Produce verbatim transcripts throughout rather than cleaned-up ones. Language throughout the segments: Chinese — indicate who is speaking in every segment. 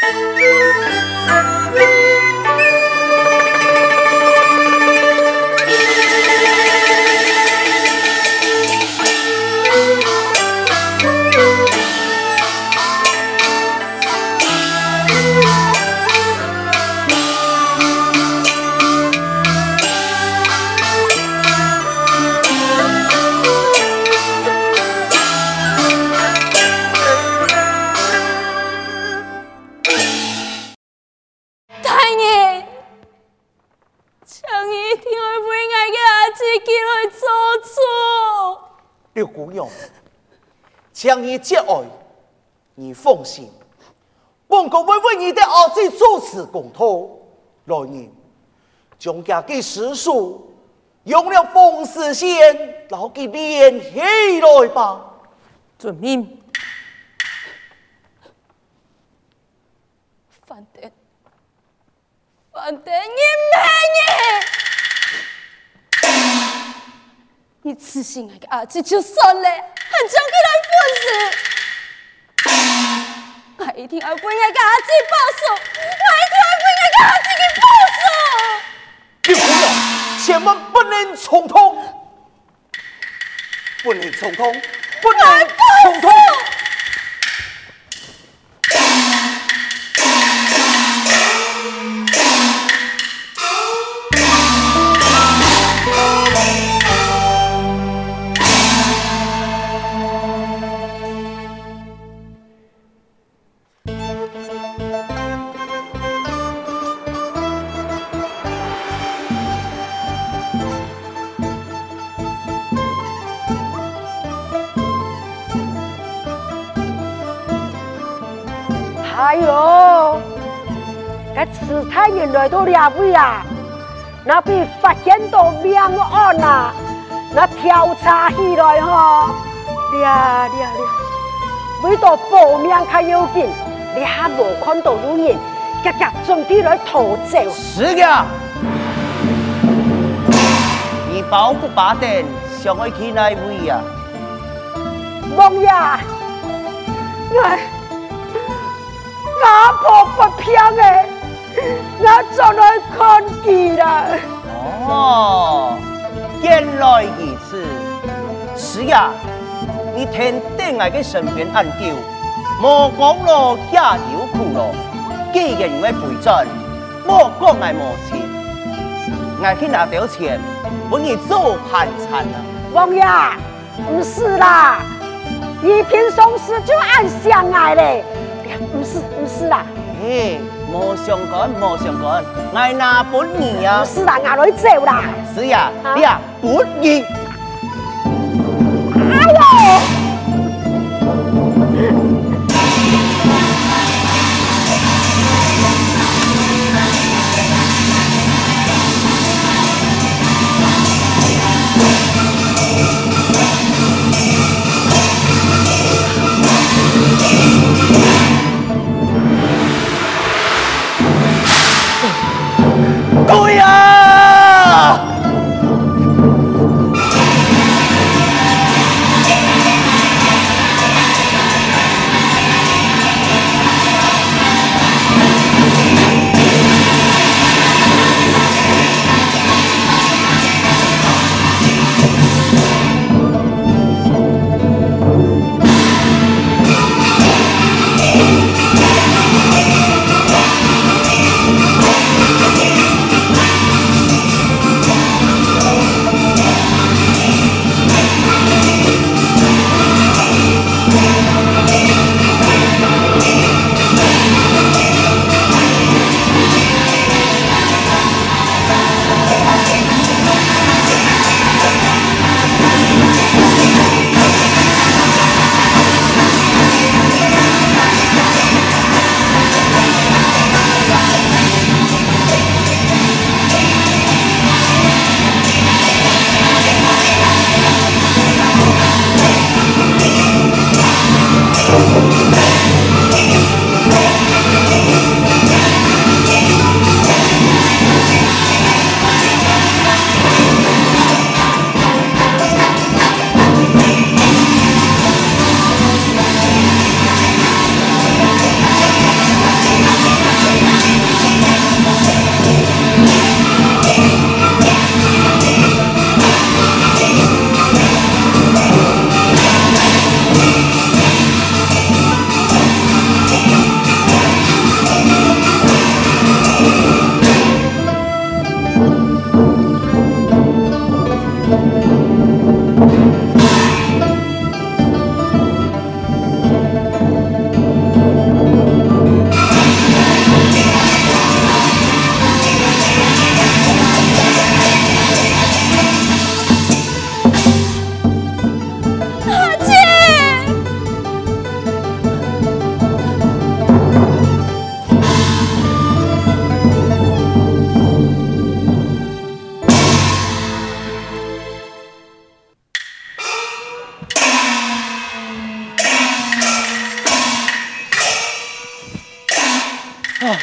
Speaker 1: 刘姑娘，将你接爱，你放心，本宫会为你的儿子主持公道。来年，将家给师叔用了风丝线，老给连起來吧。
Speaker 2: 遵命。反正，反正你沒你。你痴心那個兒子就算了，還將佢來放肆！我一定要為那個兒子報仇！我一定要為那個兒子給報仇！
Speaker 1: 你不要，千萬不能衝動，不能衝動，不能衝動！
Speaker 3: 哎呦，這慈太原來到哪位啊？那被發現到命案啊，那調查起來吼，呀呀呀！為到保命較要緊，你還無看到有人夾夾總地來逃走。
Speaker 4: 是的，你保不把燈想要去哪位啊？
Speaker 3: 王爺，我。我婆不騙的，我就來看佢啦。
Speaker 4: 哦，原來如此。是呀，你聽定我嘅身邊案究，莫講咯，也有苦咯。既然我回轉，莫講我無錢，我去拿到錢，幫你做盤纏啊。
Speaker 3: 王爺，不是啦，一品鬆時就按相愛嘞。不是不是啦，
Speaker 4: 哎，冇相干冇相干，我拿本義啊！
Speaker 3: 不是啦，我來走啦。
Speaker 4: 是呀，你啊本義。
Speaker 3: 哎呦！
Speaker 4: 對呀！
Speaker 1: 啊！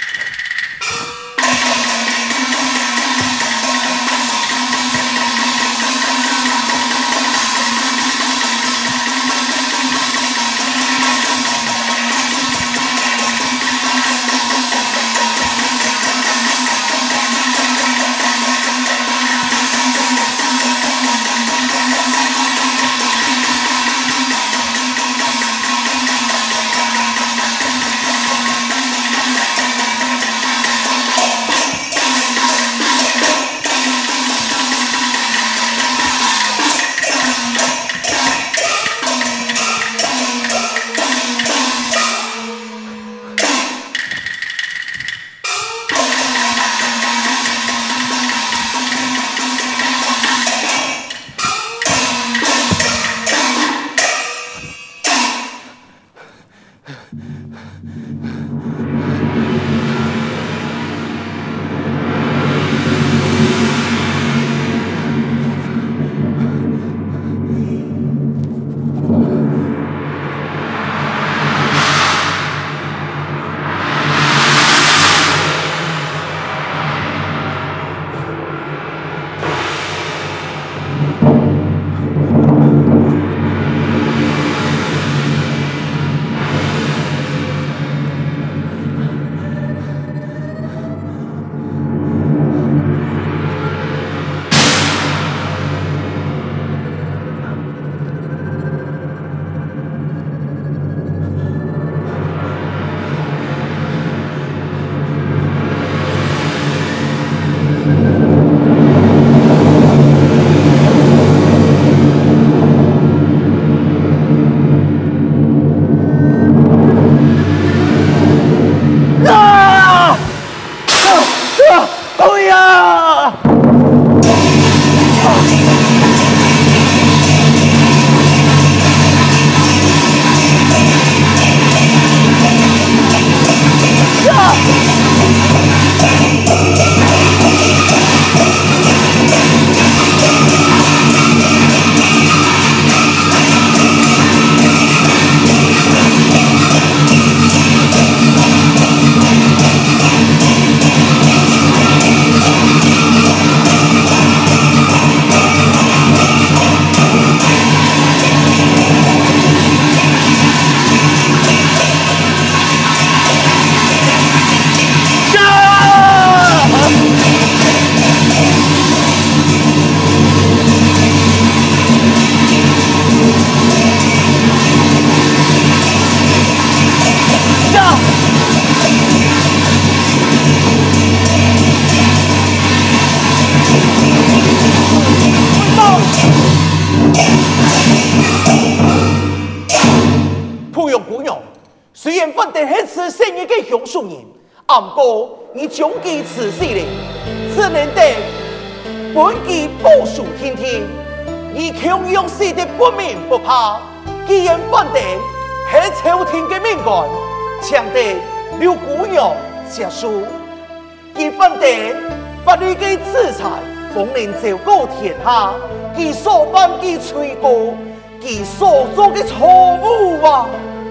Speaker 1: 杨树人，暗过你將其辭死了，只能得本期報數天天，而強用死的不明不怕，既然反正係朝廷的命官，搶得劉姑娘結束，其反正法律的制裁，方能昭告天下，其所犯其罪過，其所做的錯誤啊！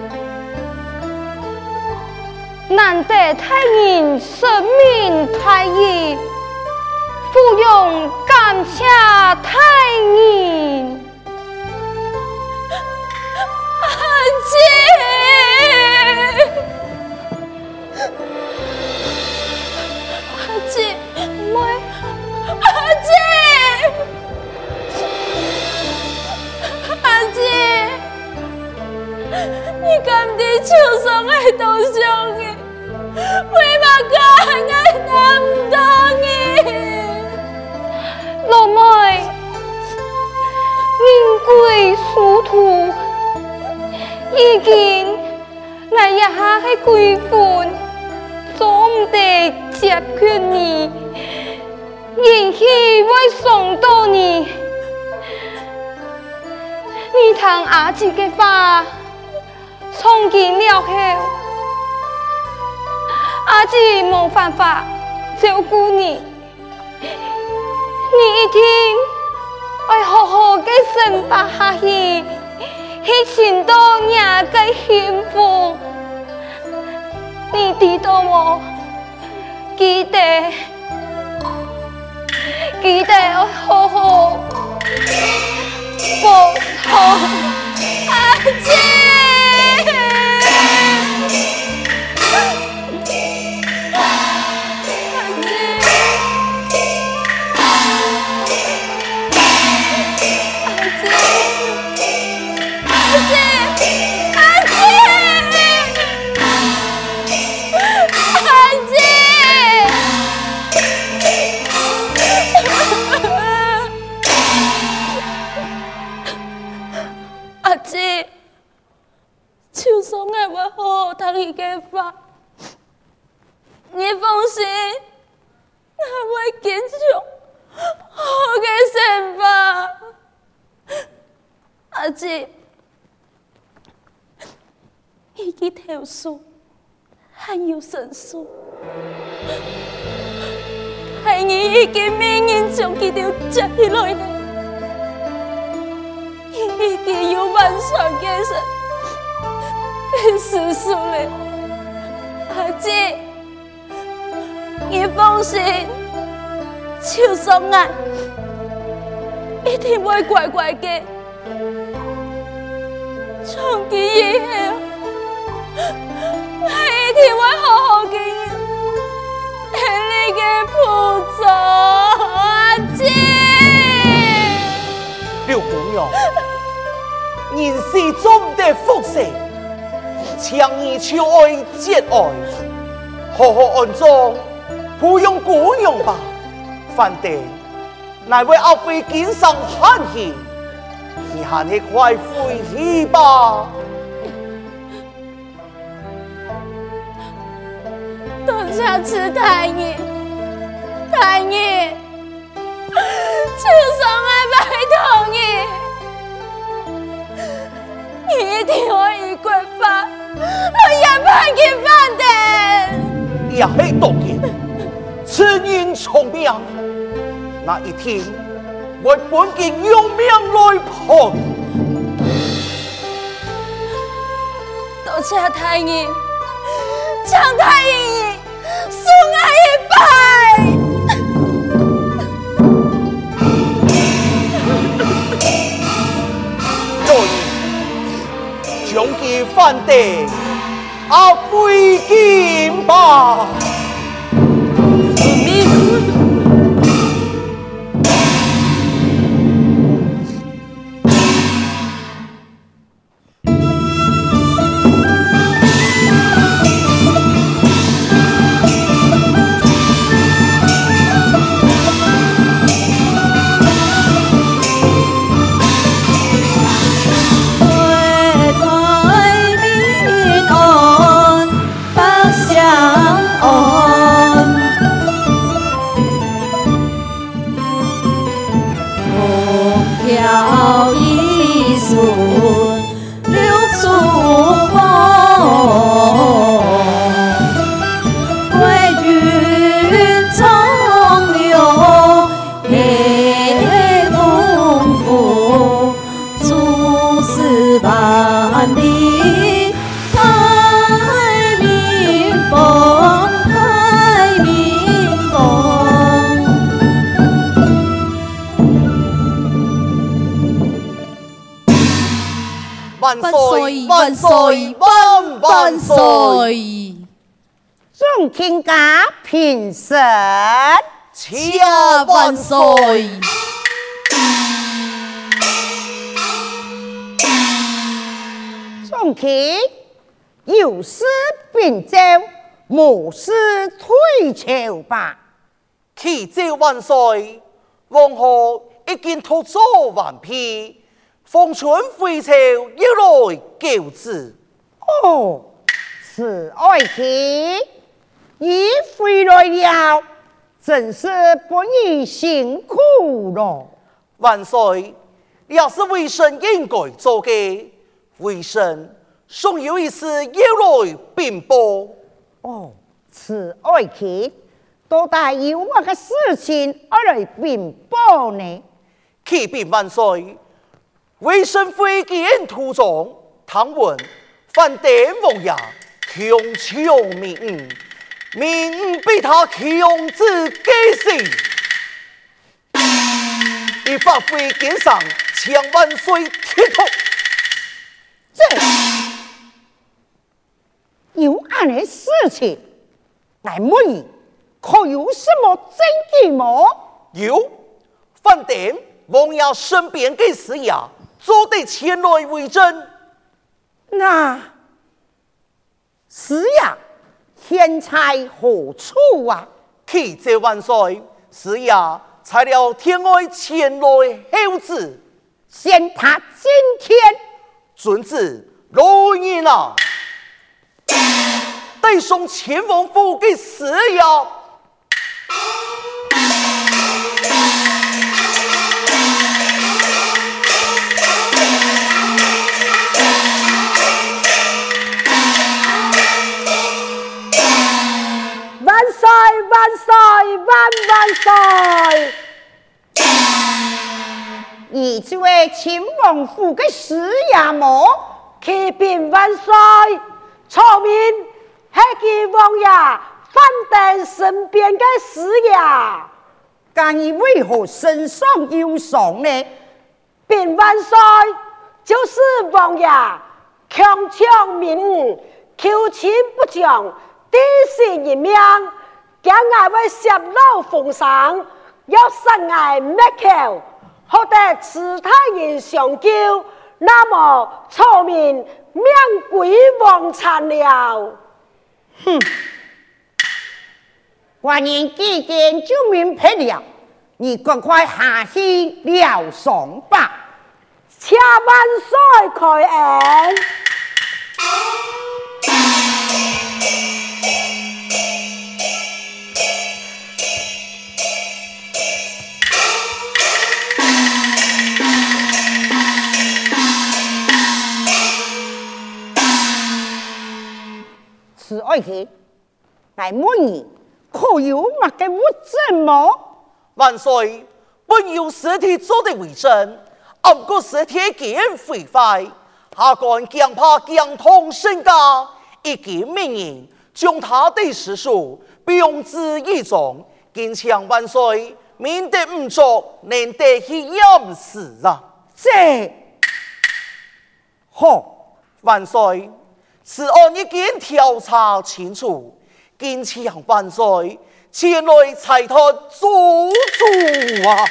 Speaker 2: 難得太人生命太義，芙蓉感謝太人。阿姐，阿姐，妹，阿姐，阿姐，你敢在手上愛刀傷的？為嘛敢愛難當的？老妹，人貴殊途，已經我也係貴婦，總得接勸你，仍希會送到你。你聽阿姊的話，從今了後。阿姊冇辦法照顧你，你一定要好好嘅生活下去，去尋到你嘅幸福。 你知道無？記得，記得要好好保護阿姐。你嘅法，你放心，我會堅持好嘅生活。阿姐，伊嘅投訴很有神數，係你已經命運將佢哋接起來呢，已經有萬上嘅神。叔叔嘞，阿姐，你放心，就算我一定會乖乖嘅，從今以後，我一定會好好嘅為你嘅負責，阿姐。
Speaker 1: 劉公娘，人是總得福世。強以求愛節愛，好好安裝，不用姑娘吧。反正乃為後輩經上喊氣，你還是快回去吧。
Speaker 2: 多謝慈太爺，太爺，就算我拜託你，你一定可以歸法。我也怕佢翻的，
Speaker 1: 也係當然，此人聰明，那一天我本應用命來判。
Speaker 2: 多謝太爺，張太爺恕我一拜。
Speaker 1: 將其翻地，阿飛劍吧。萬歲！萬歲！萬萬歲！
Speaker 3: 眾卿家平身，
Speaker 2: 謝萬歲！
Speaker 3: 眾卿有事禀奏，無事退朝吧。
Speaker 1: 啟奏萬歲，王后已經托奏完畢。奉春回朝，要來救子。
Speaker 3: 哦，此愛卿已回來了，真是不宜辛苦了。
Speaker 1: 萬歲，也是微臣應該做嘅，微臣尚有一事要來稟報。
Speaker 3: 哦，此愛卿多大有乜嘅事情要來稟報呢？
Speaker 1: 啟稟萬歲。微臣會見途中，探聞范典王爺強搶民，民被他強制改姓，一發揮肩上千萬歲鐵頭。
Speaker 5: 這有案的事情，來問你，可有什麼證據嗎？
Speaker 1: 有，飯店王爺身邊的師爺做得前來為證。
Speaker 5: 那師爺現在何處啊？
Speaker 1: 啟這萬歲，師爺才了天外前來候旨，
Speaker 5: 限他今天。
Speaker 1: 遵旨，來人啊！帶上前王府給師爺。
Speaker 3: 萬歲萬歲萬萬歲！
Speaker 5: 你這位秦王府的師爺麼？
Speaker 3: 啟稟萬歲，聰明係其王爺飯店身邊的師爺。
Speaker 5: 但你為何身上有傷呢？
Speaker 3: 稟萬歲，就是王爺強搶民女，求親不將，地死一命，將我為泄露風聲，要殺我滅口。好得此他人相救，那麼聰明命歸王殘了。
Speaker 5: 哼！官人既然就明白了，你趕快下去療傷吧。
Speaker 3: 且萬歲開恩。
Speaker 5: 此愛卿，來問你，可有乜嘅物證麼？
Speaker 1: 萬歲，本有屍體做的為證，不過屍體既然毀壞，下官強怕強痛身家，一經命人將他的屍首標之一中，敬請萬歲免得誤作，難得去驗屍啊！
Speaker 5: 這好，
Speaker 1: 萬歲。此案已經調查清楚，敬請萬歲前來裁決做主啊！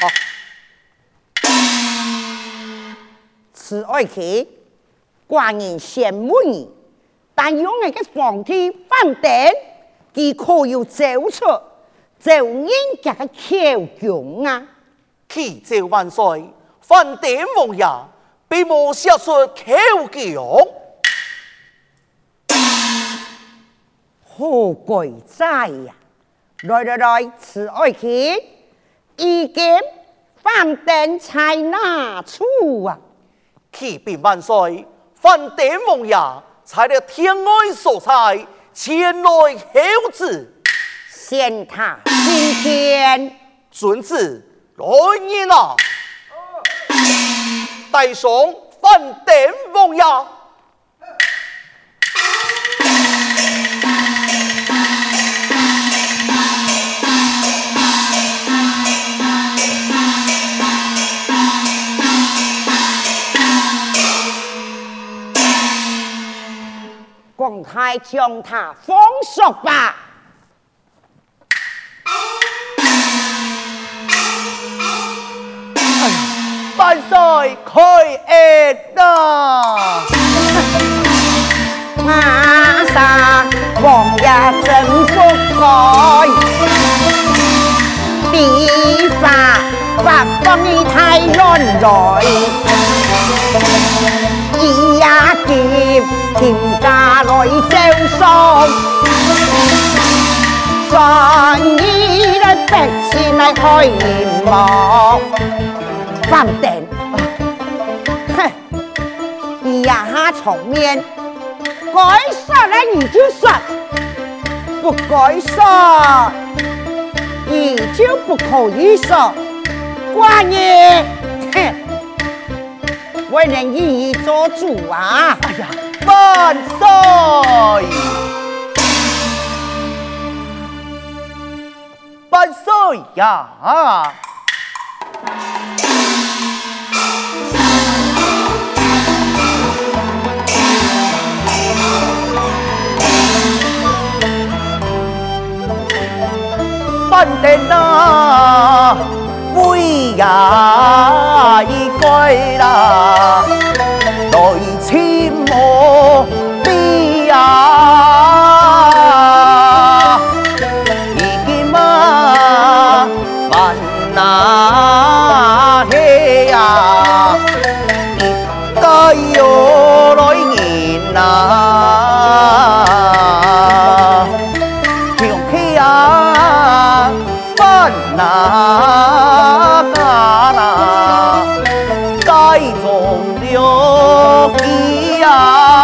Speaker 5: 此愛卿，官人羨慕你，但用那個皇帝飯店，佢可有走出就人家的口供啊？
Speaker 1: 啟奏萬歲，飯店王爺並無寫出口供。
Speaker 5: 好鬼哉呀！來來來，此愛卿，一件飯店才拿出啊！
Speaker 1: 啟稟萬歲，飯店王爺採了天外所裁，前來候旨，
Speaker 5: 限他今天。
Speaker 1: 遵旨，來人啊！帶上飯店王爺。
Speaker 5: 公開將他封鎖吧！
Speaker 4: 萬歲開恩啊！
Speaker 5: 馬上王爺真不該，地法法幫你太亂來。一呀劫，天家來招送，所以呢百姓來開眼目，飯店，哼，一呀哈場面，該殺了你就殺，不該殺，你就不可以殺，官人，哼。為人一一做主啊！
Speaker 1: 哎呀，
Speaker 4: 萬歲！萬歲呀！半殿啊，威呀一歸啦，來親我你呀，已經嘛萬那嘿呀，一代又來人啊。那嘎那該中了氣呀，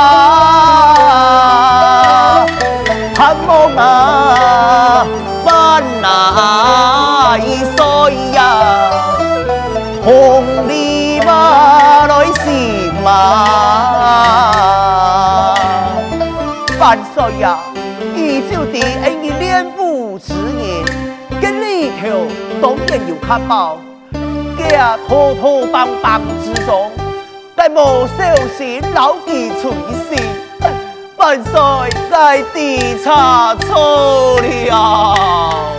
Speaker 4: 盼望那萬那一歲呀，紅里馬來是嘛，萬歲呀！依舊的恩義戀父慈言。跟裡頭當然有卡包，家拖拖幫幫之中，但無小心老記隨時，萬歲在地差錯了。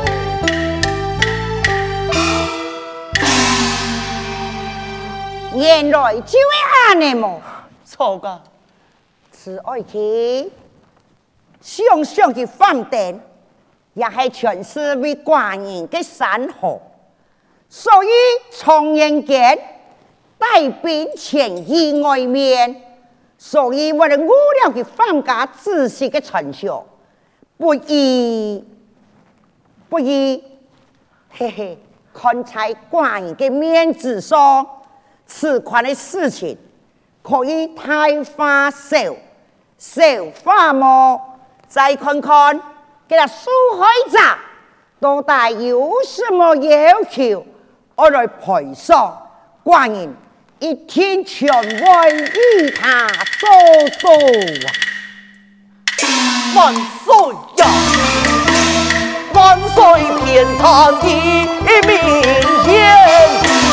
Speaker 5: 原來就係安尼麼？
Speaker 4: 錯噶，
Speaker 5: 慈愛去，想想去飯店。也係全是為寡人的山河，所以從人間帶兵前意外面，所以我哋無聊嘅放假仔細嘅傳承，不宜不宜，嘿嘿，看在寡人嘅面子上，此款嘅事情可以大化小，小化無，再看看。給他受害者到底有什麼要求，我來賠償。寡人一天全為與他做到啊！
Speaker 1: 萬歲呀！萬歲天堂的明言，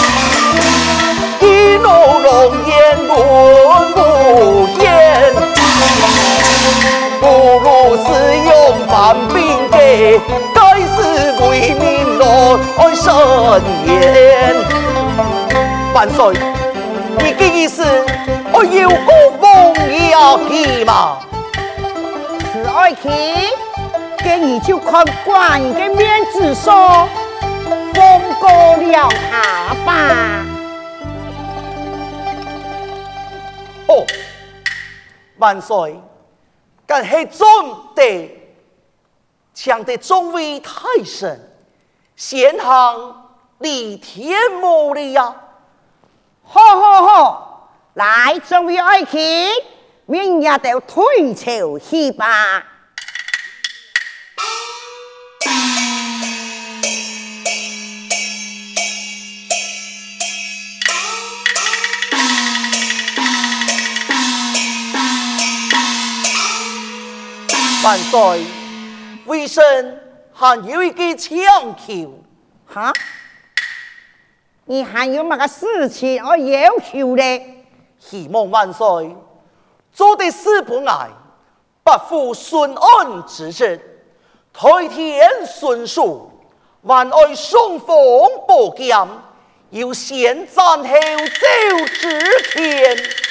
Speaker 1: 一怒龍顏論無言，不如是用犯兵嘅，該是為民來伸冤。萬歲，你嘅意思，我要孤風要氣嘛？
Speaker 5: 是愛去，給你就看寡人嘅面子上，放過了他吧。
Speaker 1: 哦，萬歲。但係總得搶得眾位太神，先行立天母了呀！
Speaker 5: 好好好，來眾位愛卿，明日就退朝去吧。
Speaker 1: 萬歲，為甚還有一個強求？
Speaker 5: 哈？你還有乜個事情我要求呢？
Speaker 1: 希望萬歲做的事不礙，不負順安之職，台天順數，還愛雙風寶劍，要先斬後奏之權。